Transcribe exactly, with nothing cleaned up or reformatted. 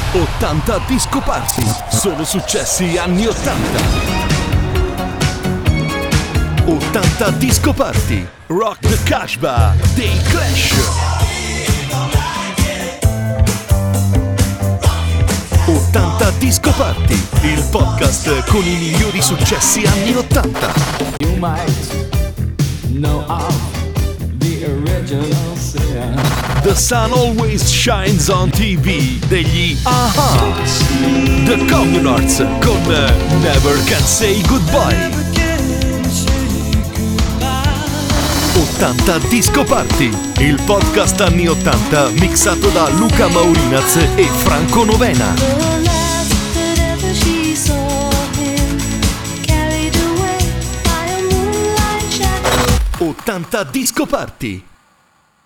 ottanta Disco Party, solo successi anni ottanta. ottanta Disco Party, Rock the Casbah dei Clash. ottanta Disco Party, il podcast con i migliori successi anni ottanta. You might know of the original sin. The Sun Always Shines on T V degli A-ha. The Communards con Never Can Say Goodbye. ottanta Disco Party, il podcast anni ottanta mixato da Luca Maurinaz e Franco Novena. ottanta Disco Party.